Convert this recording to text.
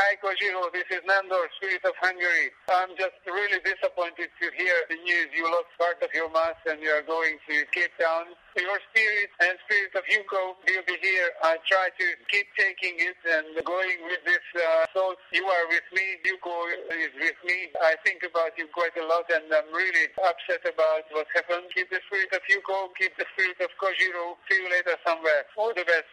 Hi, Kojiro. This is Nandor, Spirit of Hungary. I'm just really disappointed to hear the news. You lost part of your mass and you are going to Cape Town. Your spirit and spirit of Yuko will be here. I try to keep taking it and going with this thought. You are with me. Yuko is with me. I think about you quite a lot and I'm really upset about what happened. Keep the spirit of Yuko. Keep the spirit of Kojiro. See you later somewhere. All the best.